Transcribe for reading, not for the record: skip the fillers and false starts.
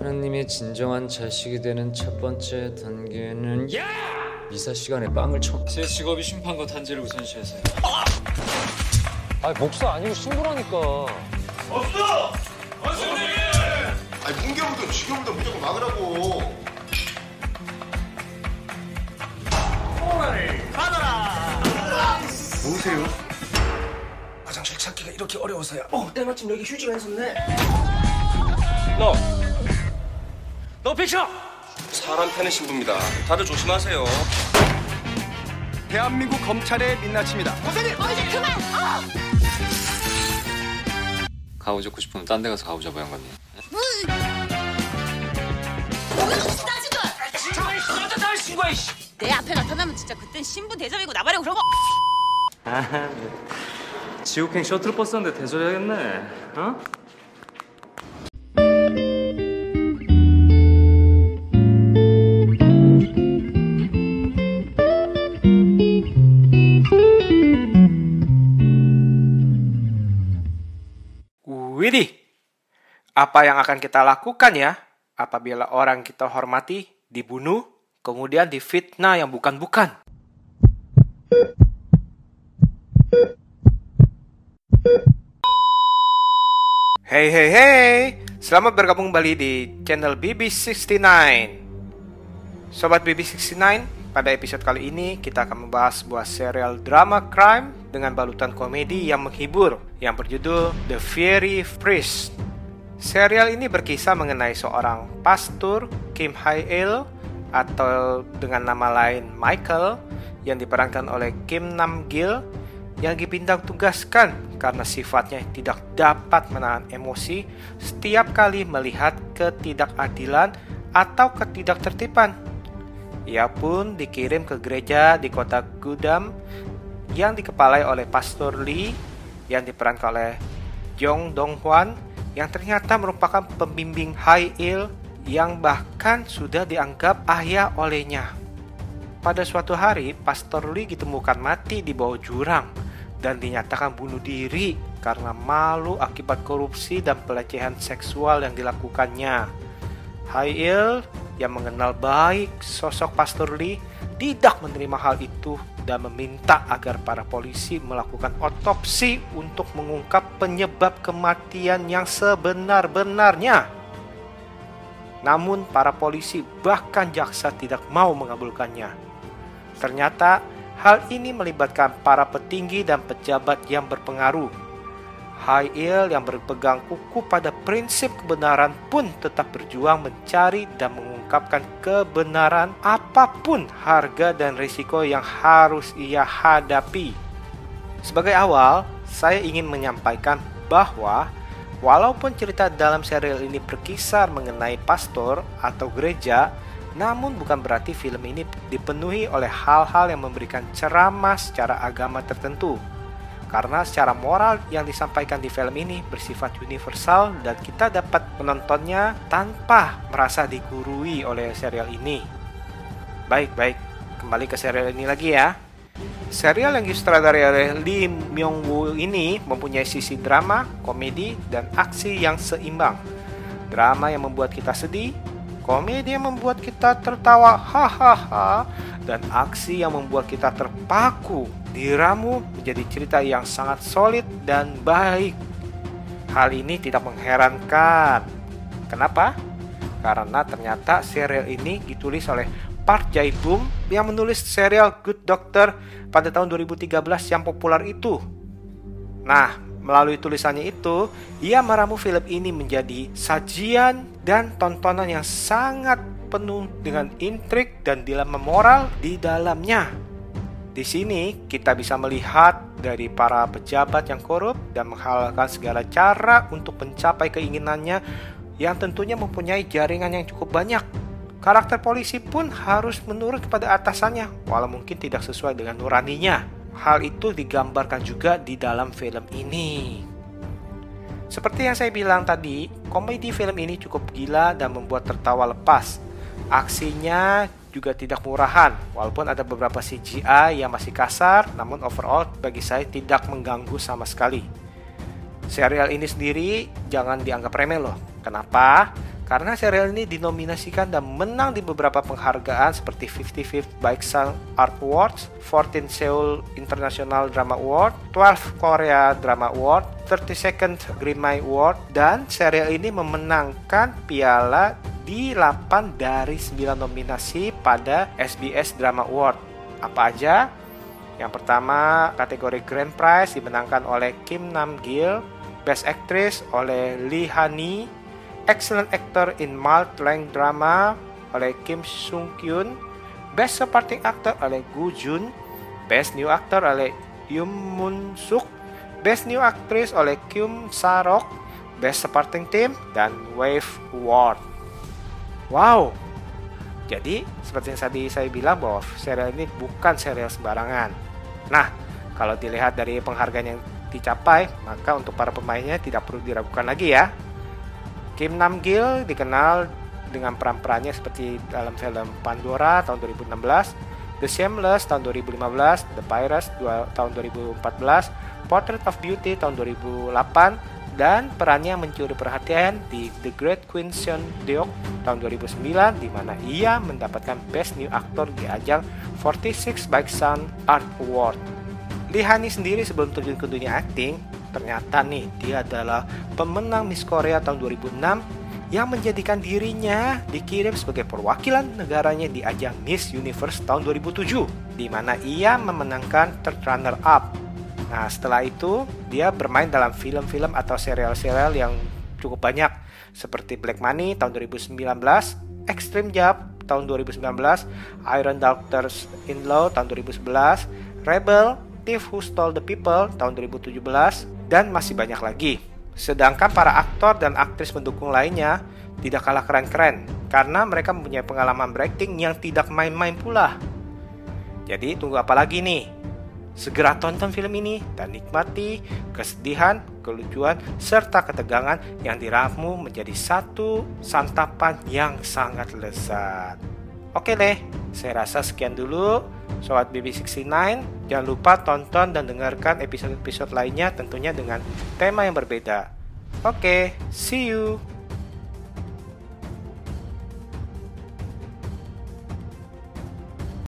하느님의 진정한 자식이 되는 첫 번째 단계는 미사 시간에 빵을 쳐. 제 직업이 심판과 단죄를 우선시해서요. 아니 목사 아니고 신부라니까. 없어! 선생님! 아니 문개부터 지겨부터 무조건 막으라고. 오늘 받아라! 뭐세요? 화장실 찾기가 이렇게 어려워서야. 때마침 여기 휴지가 있었네. 너 비켜! 사람 패는 신부입니다. 다들 조심하세요. 대한민국 검찰의 민낯입니다. 이제 그만! 가오 잡고 싶으면 딴 데 가서 가오 잡아요, 형님. 내 앞에 나타나면 진짜 그땐 신부 대접이고 나발이고 그런 거. 지옥행 셔틀버스인데 대소해야겠네. 어? Widih, apa yang akan kita lakukan ya apabila orang kita hormati dibunuh, kemudian difitnah yang bukan-bukan? Hey, selamat bergabung kembali di channel BB69. Sobat BB69, pada episode kali ini kita akan membahas sebuah serial drama crime dengan balutan komedi yang menghibur yang berjudul The Fiery Priest. Serial ini berkisah mengenai seorang pastor, Kim Hae-il, atau dengan nama lain Michael, yang diperankan oleh Kim Nam-gil, yang dipindah tugaskan karena sifatnya tidak dapat menahan emosi setiap kali melihat ketidakadilan atau ketidaktertiban. Ia pun dikirim ke gereja di kota Gudam yang dikepalai oleh Pastor Lee yang diperankan oleh Jong Dong-hwan, yang ternyata merupakan pembimbing Hae-il yang bahkan sudah dianggap ayah olehnya. Pada suatu hari, Pastor Lee ditemukan mati di bawah jurang dan dinyatakan bunuh diri karena malu akibat korupsi dan pelecehan seksual yang dilakukannya. Hae-il yang mengenal baik sosok Pastor Lee tidak menerima hal itu dan meminta agar para polisi melakukan otopsi untuk mengungkap penyebab kematian yang sebenar-benarnya. Namun para polisi bahkan jaksa tidak mau mengabulkannya. Ternyata hal ini melibatkan para petinggi dan pejabat yang berpengaruh. Hae-il yang berpegang kukuh pada prinsip kebenaran pun tetap berjuang mencari dan mengungkapkan kebenaran apapun harga dan risiko yang harus ia hadapi. Sebagai awal, saya ingin menyampaikan bahwa walaupun cerita dalam serial ini berkisar mengenai pastor atau gereja, namun bukan berarti film ini dipenuhi oleh hal-hal yang memberikan ceramah secara agama tertentu. Karena secara moral yang disampaikan di film ini bersifat universal dan kita dapat menontonnya tanpa merasa digurui oleh serial ini. Baik, kembali ke serial ini lagi ya. Serial yang disutradarai oleh Lee Myung-woo ini mempunyai sisi drama, komedi, dan aksi yang seimbang. Drama yang membuat kita sedih, komedi yang membuat kita tertawa hahaha, dan aksi yang membuat kita terpaku diramu menjadi cerita yang sangat solid dan baik. Hal ini tidak mengherankan. Kenapa? Karena ternyata serial ini ditulis oleh Park Jae-bum yang menulis serial Good Doctor pada tahun 2013 yang populer itu. Nah, melalui tulisannya itu, ia meramu film ini menjadi sajian dan tontonan yang sangat penuh dengan intrik dan dilema moral di dalamnya. Di sini kita bisa melihat dari para pejabat yang korup dan menghalalkan segala cara untuk mencapai keinginannya yang tentunya mempunyai jaringan yang cukup banyak. Karakter polisi pun harus menurut kepada atasannya walau mungkin tidak sesuai dengan nuraninya. Hal itu digambarkan juga di dalam film ini. Seperti yang saya bilang tadi, komedi film ini cukup gila dan membuat tertawa lepas. Aksinya juga tidak murahan, walaupun ada beberapa CGI yang masih kasar, namun overall bagi saya tidak mengganggu sama sekali. Serial ini sendiri jangan dianggap remeh loh. Kenapa? karena serial ini dinominasikan dan menang di beberapa penghargaan seperti 55th Baeksan Art Awards, 14 Seoul International Drama Award, 12 Korea Drama Award, 32nd Grimmy Award, dan serial ini memenangkan piala di 8 dari 9 nominasi pada SBS Drama Award. Apa aja? Yang pertama, kategori Grand Prize dimenangkan oleh Kim Nam-gil, Best Actress oleh Lee Han-hee, Excellent Actor in Mild-length Drama oleh Kim Sung-kyun, Best Supporting Actor oleh Gu Jun, Best New Actor oleh Yoon Mun-suk, Best New Actress oleh Kyung Sa-rok, Best Supporting Team, dan Wave Award. Wow! Jadi, seperti yang tadi saya bilang bahwa serial ini bukan serial sembarangan. Nah, kalau dilihat dari penghargaan yang dicapai, maka untuk para pemainnya tidak perlu diragukan lagi ya. Kim Nam-gil dikenal dengan peran-perannya seperti dalam film Pandora tahun 2016, The Shameless tahun 2015, The Pirates tahun 2014, Portrait of Beauty tahun 2008, dan perannya mencuri perhatian di The Great Queen Seondeok tahun 2009, di mana ia mendapatkan Best New Actor di ajang 46 Baeksan Art Award. Lee Han-hee sendiri sebelum terjun ke dunia akting, ternyata nih dia adalah pemenang Miss Korea tahun 2006 yang menjadikan dirinya dikirim sebagai perwakilan negaranya di ajang Miss Universe tahun 2007, di mana ia memenangkan third runner up. Nah, setelah itu dia bermain dalam film-film atau serial-serial yang cukup banyak seperti Black Money tahun 2019, Extreme Job tahun 2019, Iron Daughters in Law tahun 2011, Rebel, Thief Who Stole the People tahun 2017, dan masih banyak lagi. Sedangkan para aktor dan aktris pendukung lainnya tidak kalah keren-keren karena mereka mempunyai pengalaman berakting yang tidak main-main pula. Jadi tunggu apa lagi nih? Segera tonton film ini dan nikmati kesedihan, kelucuan, serta ketegangan yang diramu menjadi satu santapan yang sangat lezat. Oke deh, saya rasa sekian dulu Sobat BB69. Jangan lupa tonton dan dengarkan episode-episode lainnya tentunya dengan tema yang berbeda. Oke, see you!